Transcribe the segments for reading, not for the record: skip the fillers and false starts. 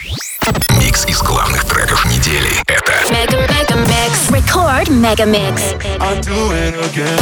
Микс из главных треков недели. Это Mega Mix. Record Mega Mix. I do it again.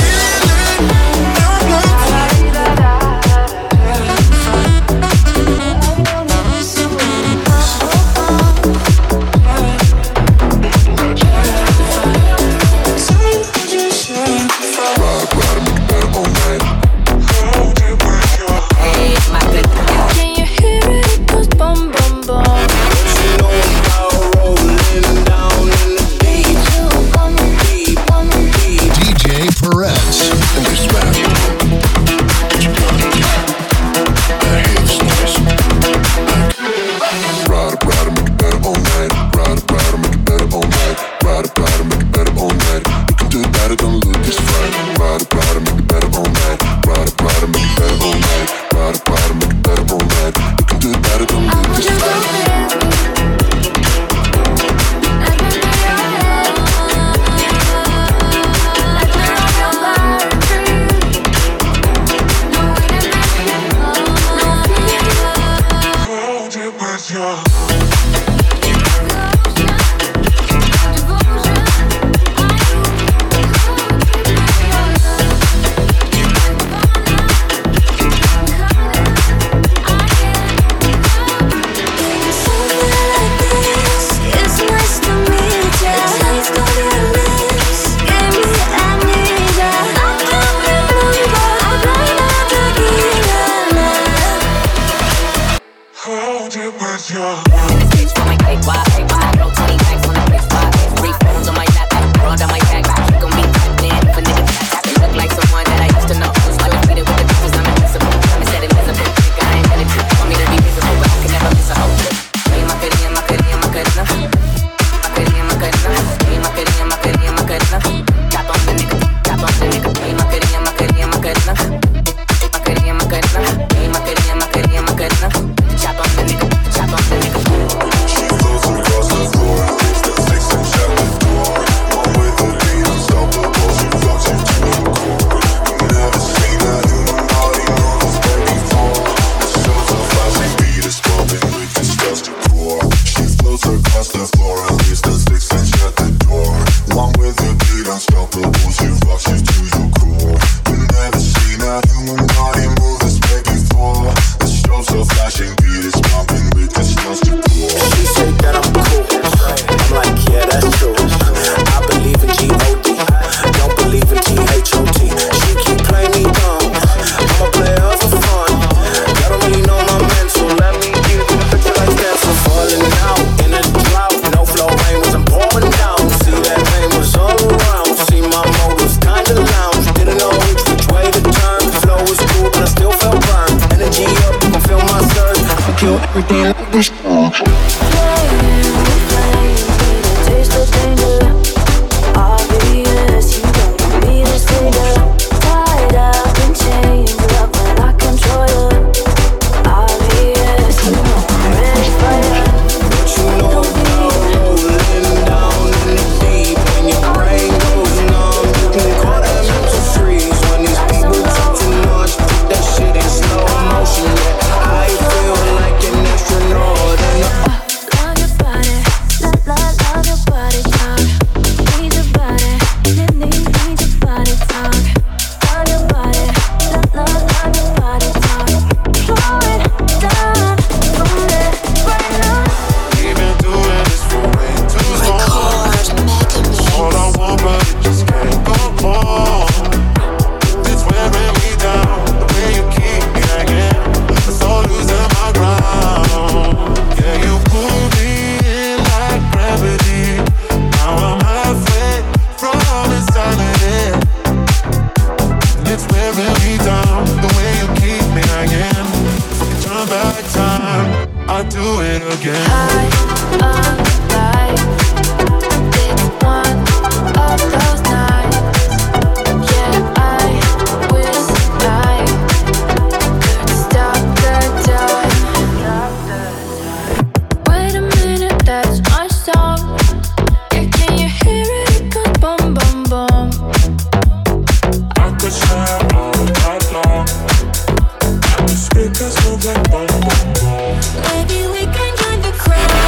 Maybe we can join the crowd.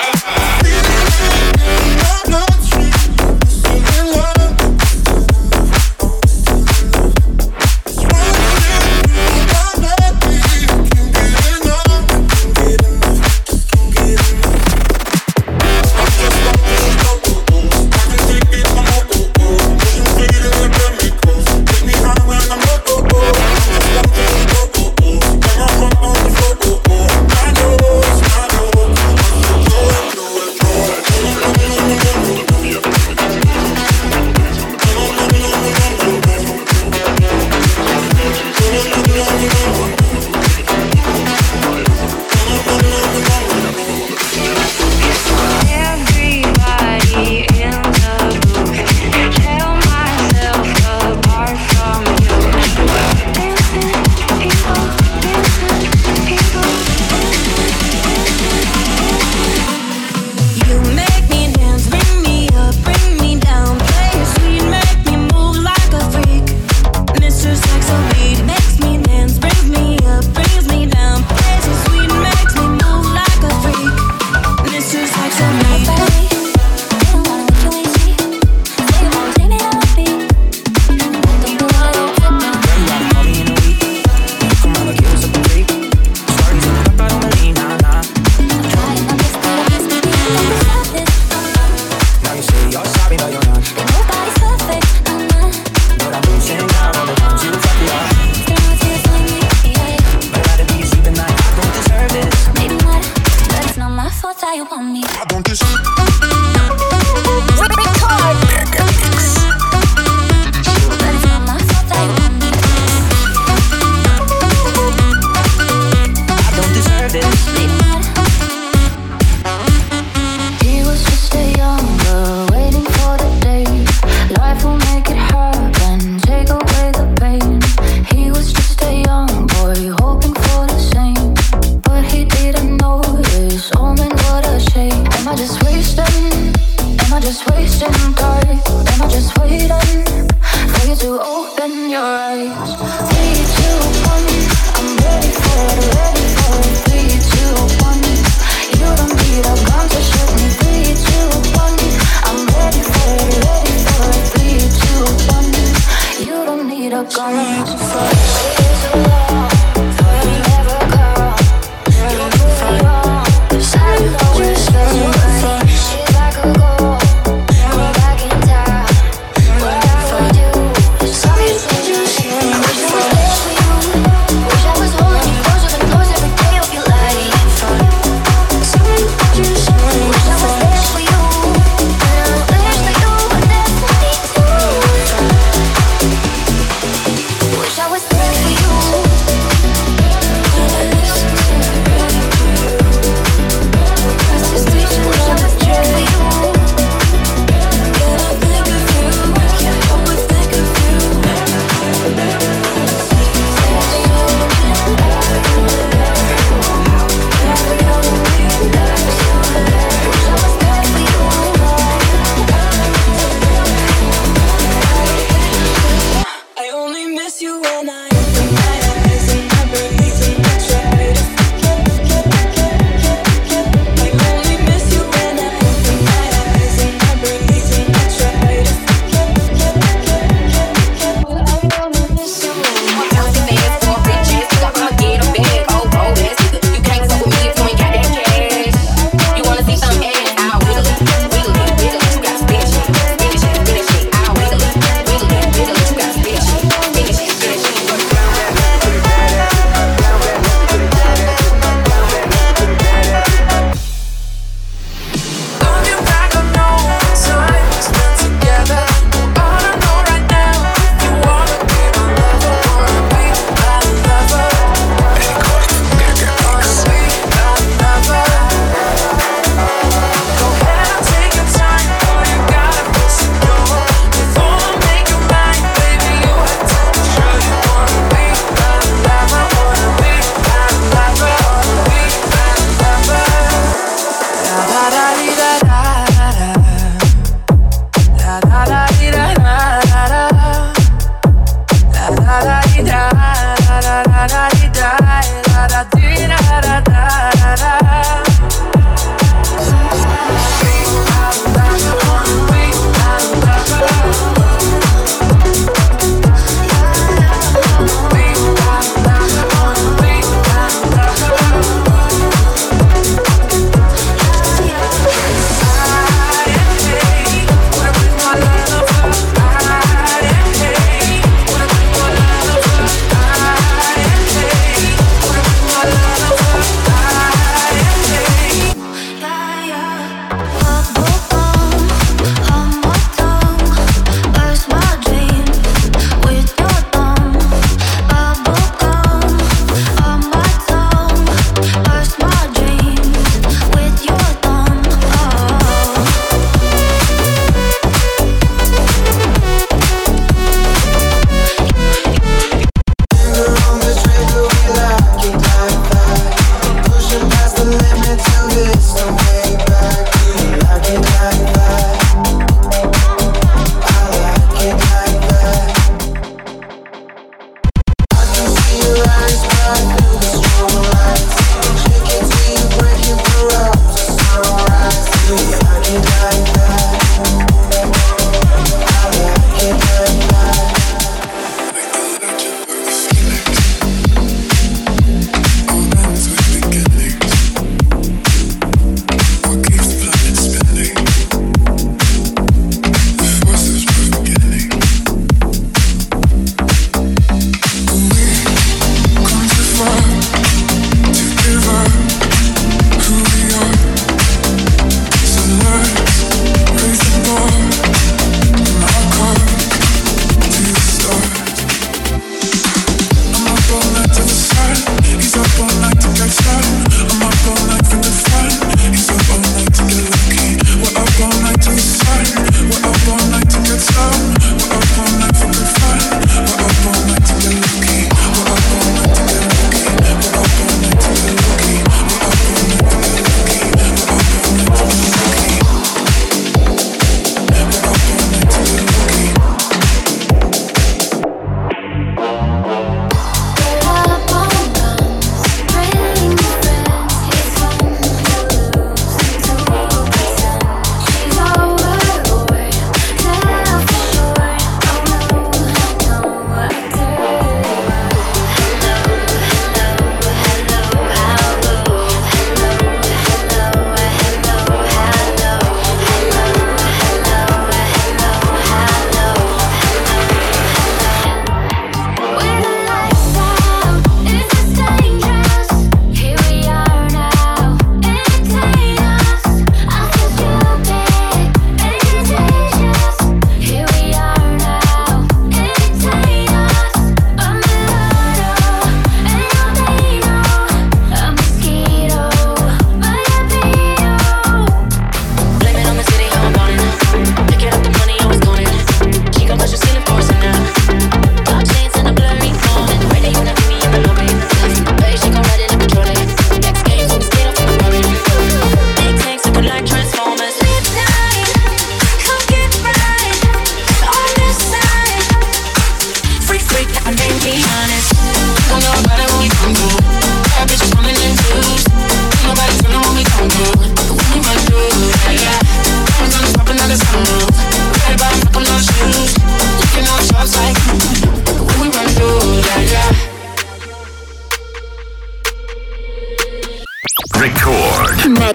Wish I was holding you closer than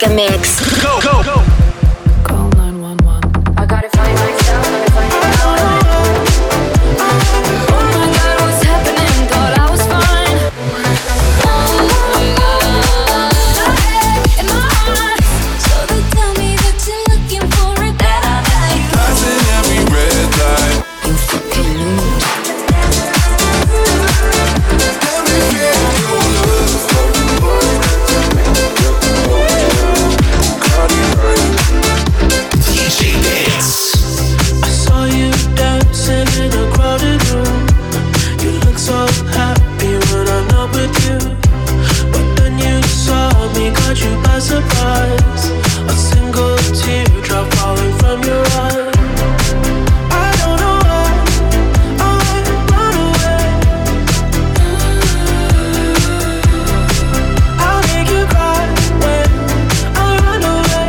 Mega Mix. Go, go, go. Call 911. I gotta find myself, gotta find myself. Oh my God, what's happening? Thought I was fine. Oh my God, in my heart. So they tell me that you're looking for it, that I like. Passing every red light. You fucking lose. Let me feel your love. DJ Mix. I saw you dancing in a crowded room. You look so happy when I'm not with you. But then you saw me, caught you by surprise. A single teardrop falling from your eye. I don't know why I run away. I'll make you cry when I run away.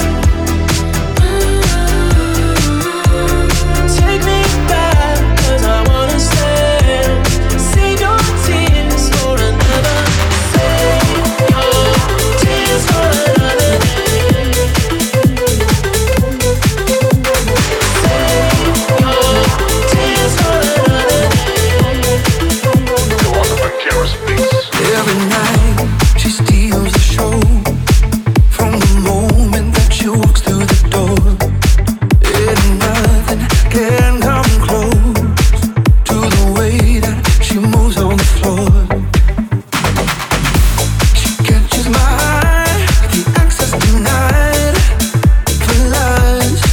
Take me back, 'cause I wanna stay. Save your tears for another. Save your tears for another day. Save your tears for another day. Every night she steals the show. From the moment that she walks through the door, and nothing can come close to the way that she moves on the floor. She catches my eye, the access denied for lust.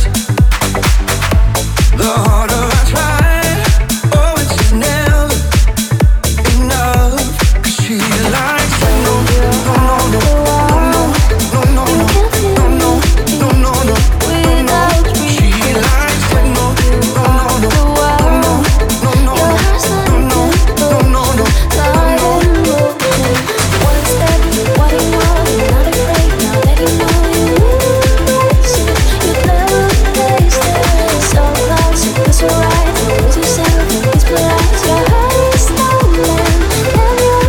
The harder I try, oh, it's just never enough. 'Cause she likes it. No, no, no, no, no, no, no, no, no, no, no, no, no. She likes it. No, no, no, no, no, no, no, no, no, no, no, no. One step, what do you want? Not afraid, now that you know you lose it. You've never tasted so close. It feels so right. Lose yourself in these blue eyes. Your heart is stolen, and you're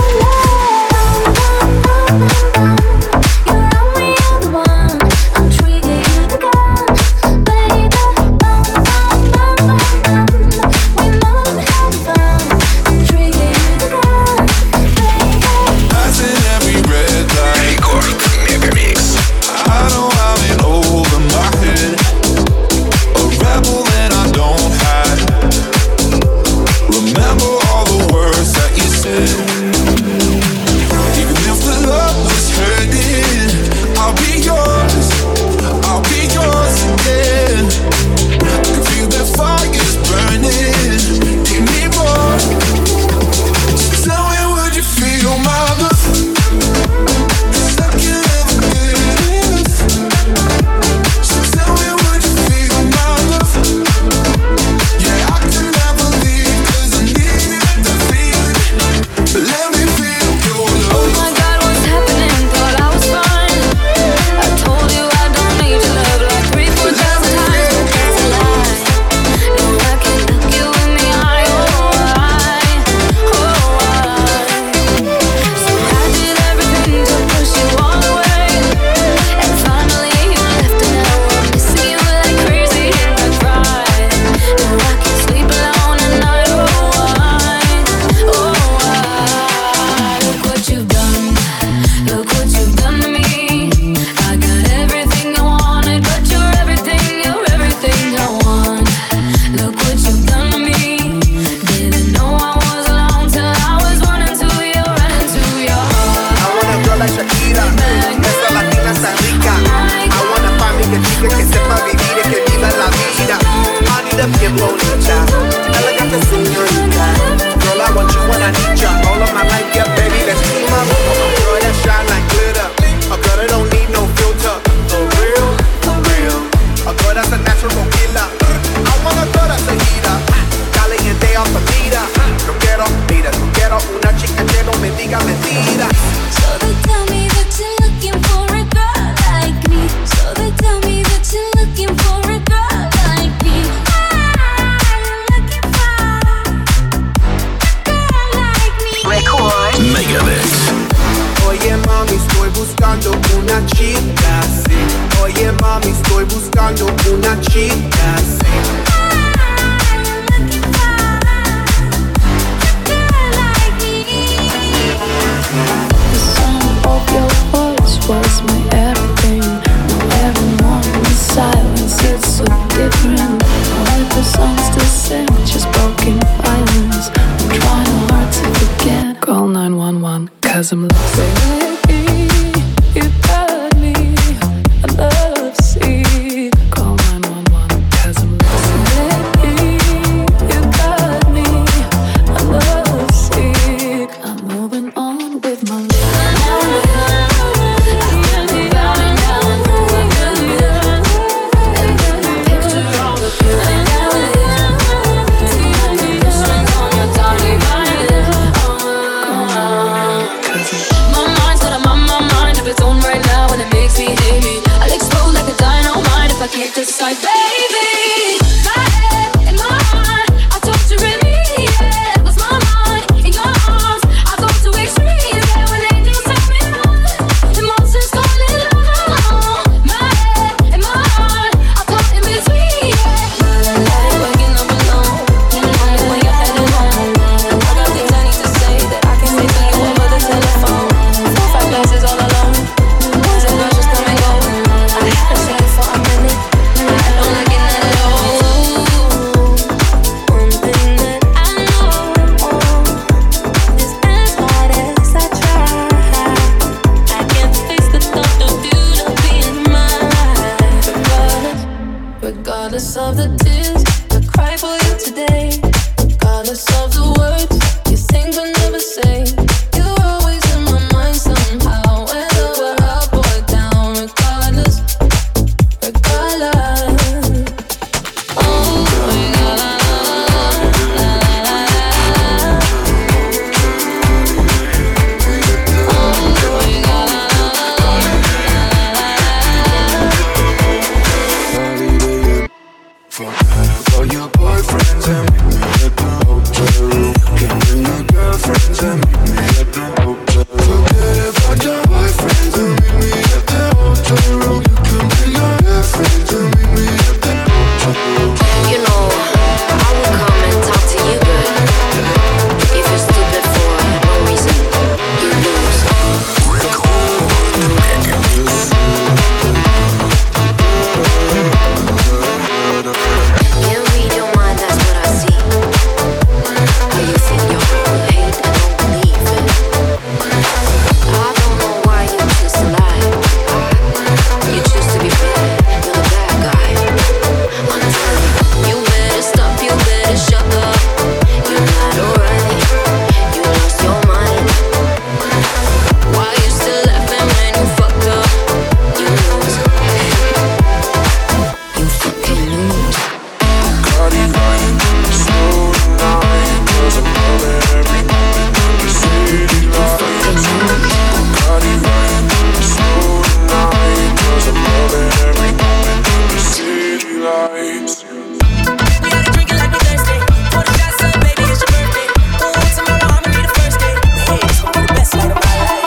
You're only the one. I'm treating you the gun, baby. We know I'm having fun. I'm treating you the gun, baby. Passing every red light. Рекорд Мегамикс. I know I'm in over my head. A rebel and I don't hide. Remember all the words that you said. Even if the love was hurting, I'll be yours. I'll be yours again. I can feel the fire's burning. Give me more. So tell me, would you feel my love? 'Cause I can't ever get enough. So tell me, would you feel my love? Yeah, I can never leave 'cause I needed the feeling. Let me feel your Oh love. my God, what's happening? Thought I was fine. I told you I don't need your love like 3,000-4,000 times, but that's a lie. No, I can't look you in the eye. Oh, I. So I did everything to push you all away, and finally you left, and now I'm missing you like crazy, and I cry. No, I can't sleep alone at night. Look what you've done. Look what you've done to me. I got everything I wanted, but you're everything I want. Look what you've done to me. Didn't know I was alone till I was running to your heart. I want a girl like Shakira, esa latina está rica. I want a familia chica que sepa vivir y que viva la vida. Manita bien bonita, elegante señorita. Girl, I want you when I need ya. All of my life, yeah, baby, let's team up. A girl that shine like glitter, a girl that don't need no filter. For real, for real. A girl that's a natural killer. I want a girl that's a heater, caliente off the meter. No quiero, mira, no quiero una chica que no me diga mentiras. So they tell me that you're looking for a girl like me. So they tell me that you're looking estoy buscando una chica así. The sound of your voice was my everything. Now every morning the silence, it's so different. All the songs to sing, just broken violence. I'm trying hard to forget. Call 911, 'cause I'm lost. Baby, you got me. I love see. Call 911, 'cause I'm lost. Baby, you got me. I love see. I'm moving on with my life. I can't decide, baby. My head and my heart, I talk to really, yeah. Lost my mind in your arms, I go to extreme, yeah. When angels take me on, emotions calling on. My head and my heart, I caught in between, yeah. Waking up alone, tell me when you're headed home. I got things I need to say that I can say to you over the telephone. 4-5 glasses all alone, boys and girls just come and go. I haven't seen you for a minute. Regardless of the tears I cry for you today, regardless of the words you think but never say, you're always in my mind somehow, whether we're up or down. Regardless. Oh, For your boyfriends and meet me at the hotel room. Can bring your girlfriends and meet me at the hotel room. Forget about your boyfriends and meet me at the hotel room. You can bring your girlfriends and meet me at the hotel room. You know, I will come and talk to you, but if you're stupid for no reason, you lose. Can't read your mind, that's what I see. How you see your heart, hate and don't believe it. I don't know why you choose to lie. You choose to be bad, you're the bad guy. I'm telling you, you better stop, you better shut up. You're not alright, you lost your mind. Why you still laughing when you fucked up? You lose. You fucking lose. Cardi lying, slow tonight, 'cause I'm loving every moment in the city lights. Cardi lying, slow tonight, 'cause I'm loving every moment in the city lights. We gotta drink it like we thirsty. Pour the shots up, baby, it's your birthday. Ooh, tomorrow I'ma be the first day. Hey, it's gonna be the best night of my life.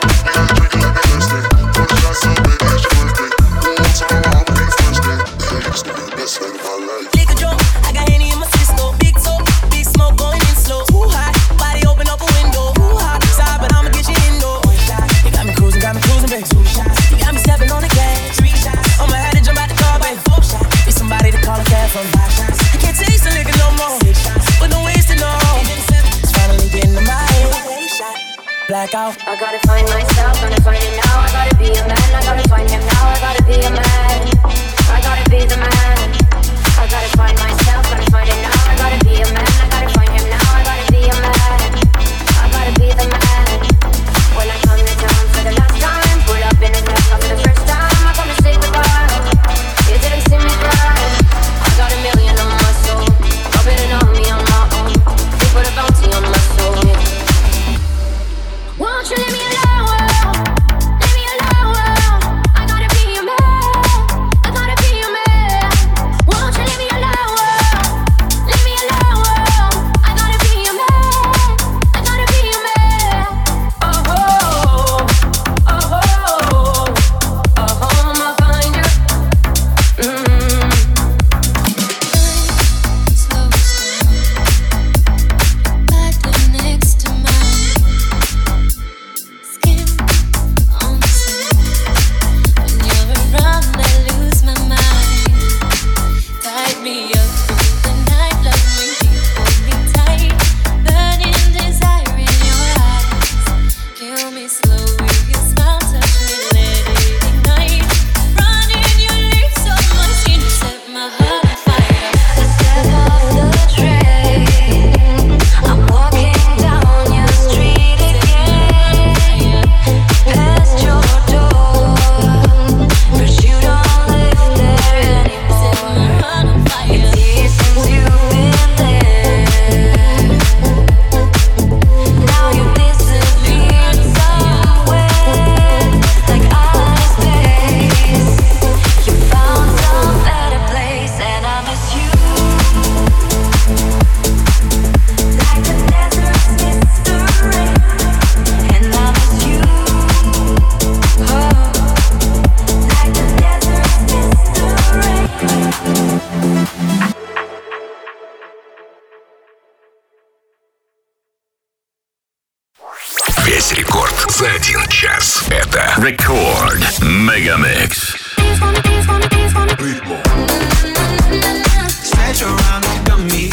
Liquor drunk, I got Henny in my system. Big talk, big smoke going in slow. Too hot, body open up a window. Too hot, side, but I'ma get you indoor. You got me cruising, baby. 2 shots. You got me stepping on the gas. 3 shots. I'ma have to jump out the car, baby. 4 shots. Need somebody to call a cab from 5 shots. I can't taste the liquor no more. 6 shots, but no wasting no. It's finally getting to my head. Blackout. I gotta find myself, gotta find it now. I gotta be a man, I gotta find him now. I gotta be a man, I gotta be the man. I gotta find myself, gotta find it now. I gotta be a man, I gotta find him now. I gotta be a man, I gotta be the man. When I come to town for the last time, pull up in his lap for the first time. I'm gonna say goodbye. You didn't see me cry. I got a million on my soul, rubbing it on me on my own. They put a bounty on my soul. Won't you leave me alone? Leave me alone. I gotta be a man. I за 1 час. Это Рекорд Мегамикс. Stretch around and got me.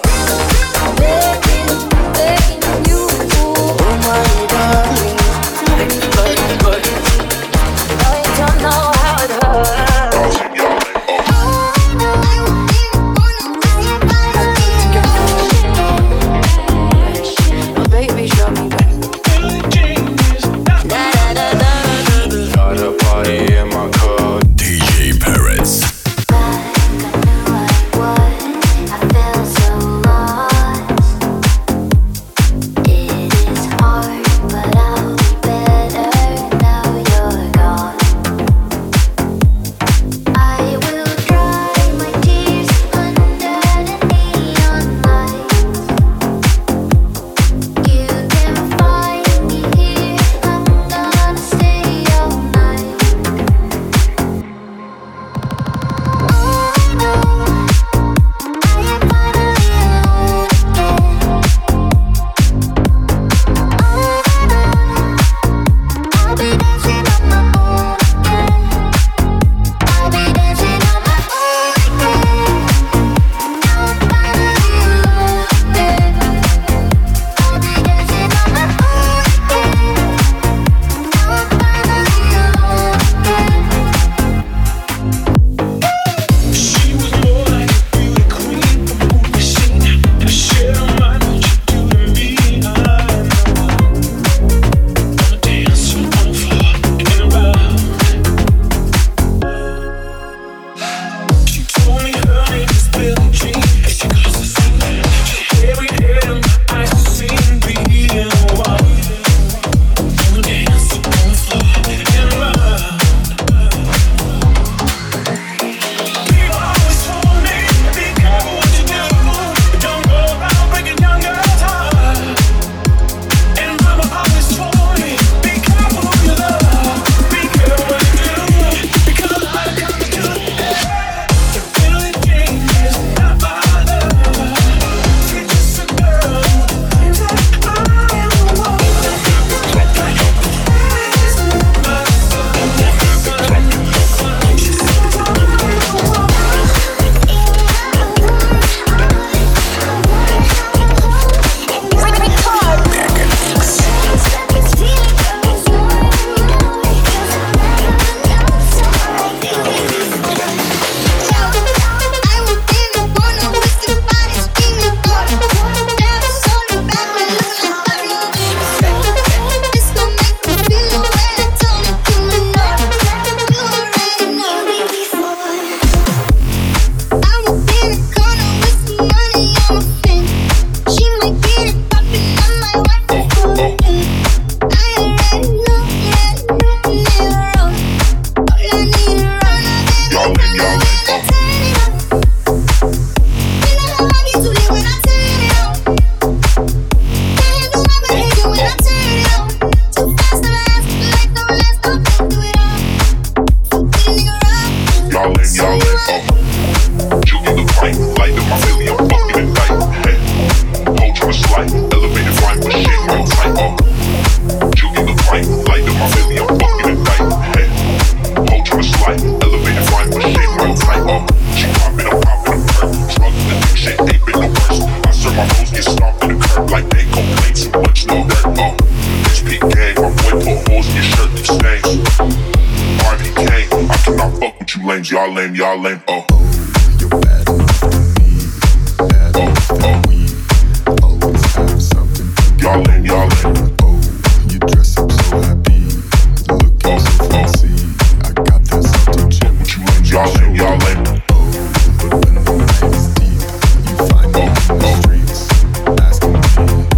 Y'all lame, y'all lame, oh. You're bad enough for me, bad enough for we always have something. Y'all lame, y'all lame. Oh, you dress up so happy, looking so fancy. I got that something gem. Y'all lame, y'all lame. Oh, but when the night is deep, you find me in the streets, asking me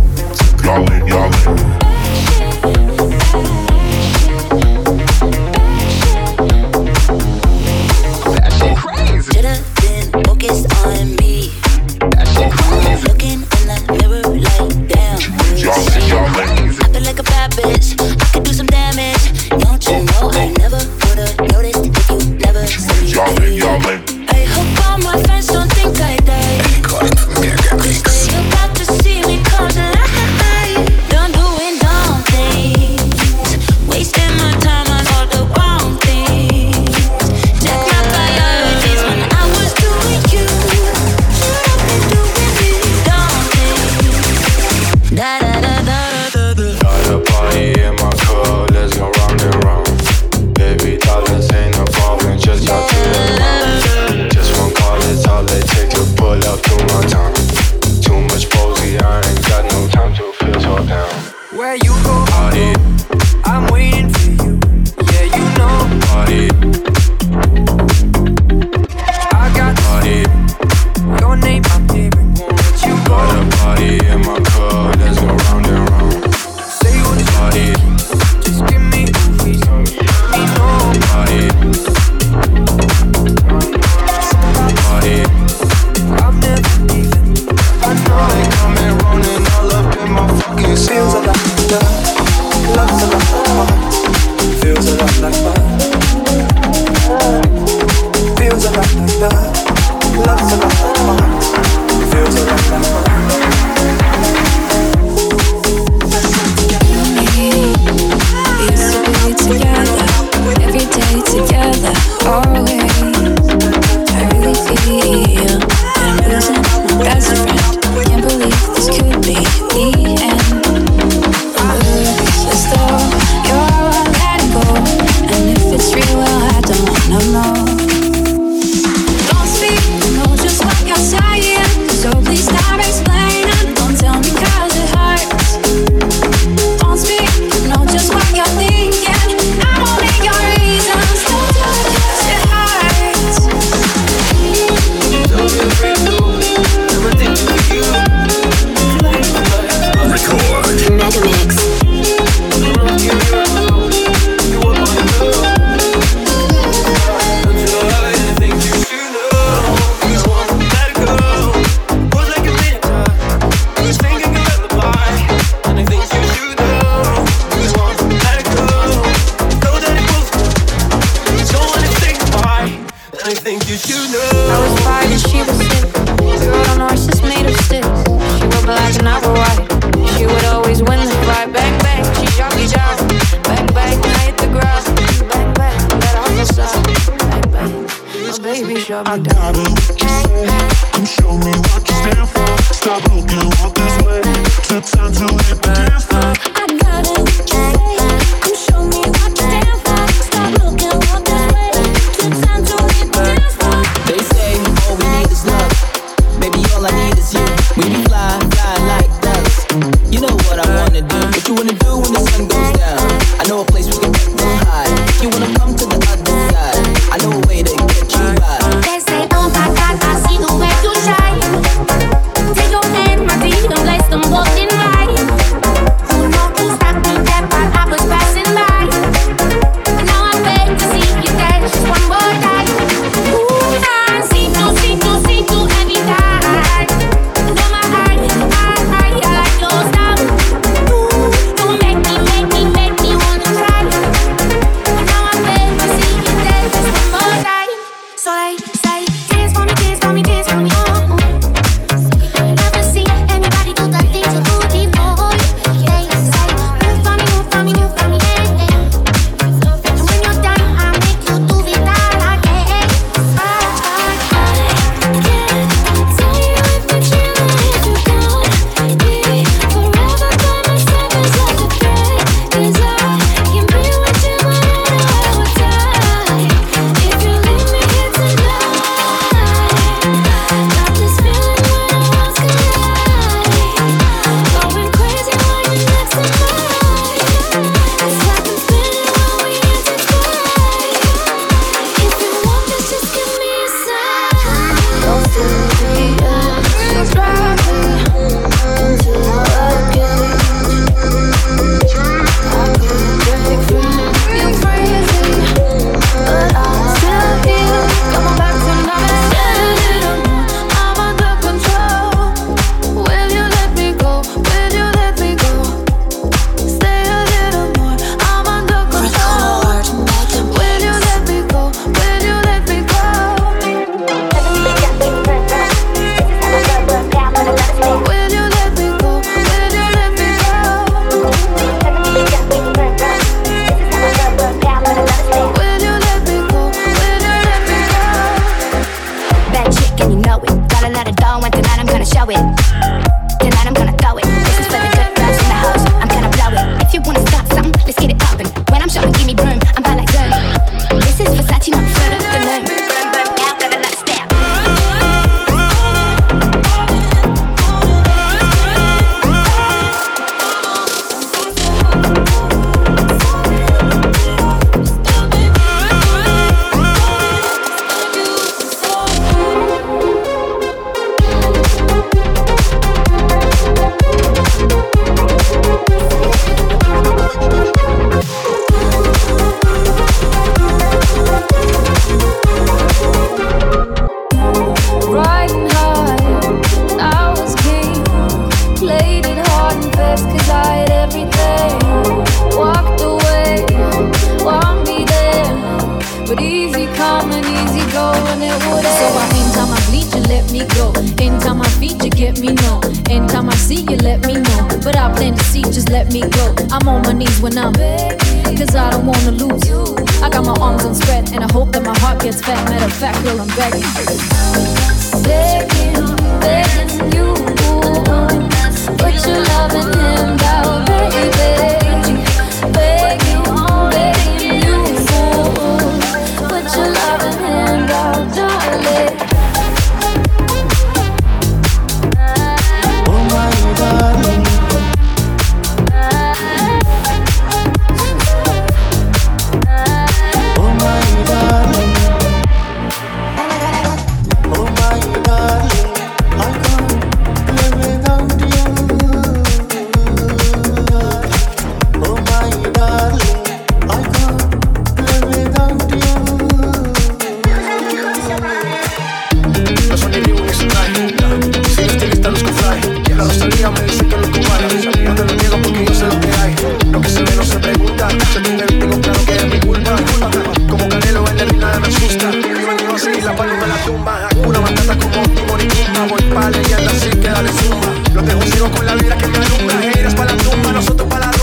to come. Y'all lame, y'all lame. Love's a lot of fun. Feels a lot like fun. Together, every day together, always. I really feel that I'm losing my best friend. Can't believe this could be the end. As though you're all letting go, and if it's real, well, I don't wanna know. Don't speak, know just what you're saying, so please stop explaining. Don't tell me 'cause it hurts. Don't speak, know just what you're thinking. I gotta look you say, come show me what you stand for. Stop looking all this way. It's time to hit the dance floor. I gotta look you say, come show me what you stand for. Stop looking all this way. It's time to hit the dance floor. They say all we need is love. Baby, all I need is you. When you fly, fly like dust. You know what I wanna do. What you wanna do when the sun goes down? I know a place we can get real high. If you wanna come to the other side, I know a way to get you right. let me go. Anytime I feed you, get me no. Anytime I see you, let me know. But I plan to see, just let me go. I'm on my knees when I'm begging, cause I don't wanna lose you. I got my arms unspread and I hope that my heart gets fat. Matter of fact, girl, I'm begging. Begging, begging you. Put your love in him down, baby. Begging, begging you. Put your love in him down, darling. Oh my darling. Oh my darling. Oh my darling. I can't live without you. Oh my darling. I can't live without you. No son ni Reebok ni Sunday. Si no estilista luzco fly. La Rosalía me dice que luzco vale. Yo no lo niego porque yo sé lo que hay. Lo que se ve no se pregunta. Se tiene tengo claro que es mi culpa. Como Canelo en la arena me asusta. Vivo en Dios y la palma en la tumba. Una batata como Timón y Pumba. Voy pa' leyenda así que dale zumba. Los dejo ciego con la vida que me alumbra. Eres pa' la tumba, nosotros pa' la rumba.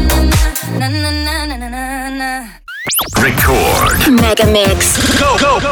Record. Mega Mix. Go, go, go.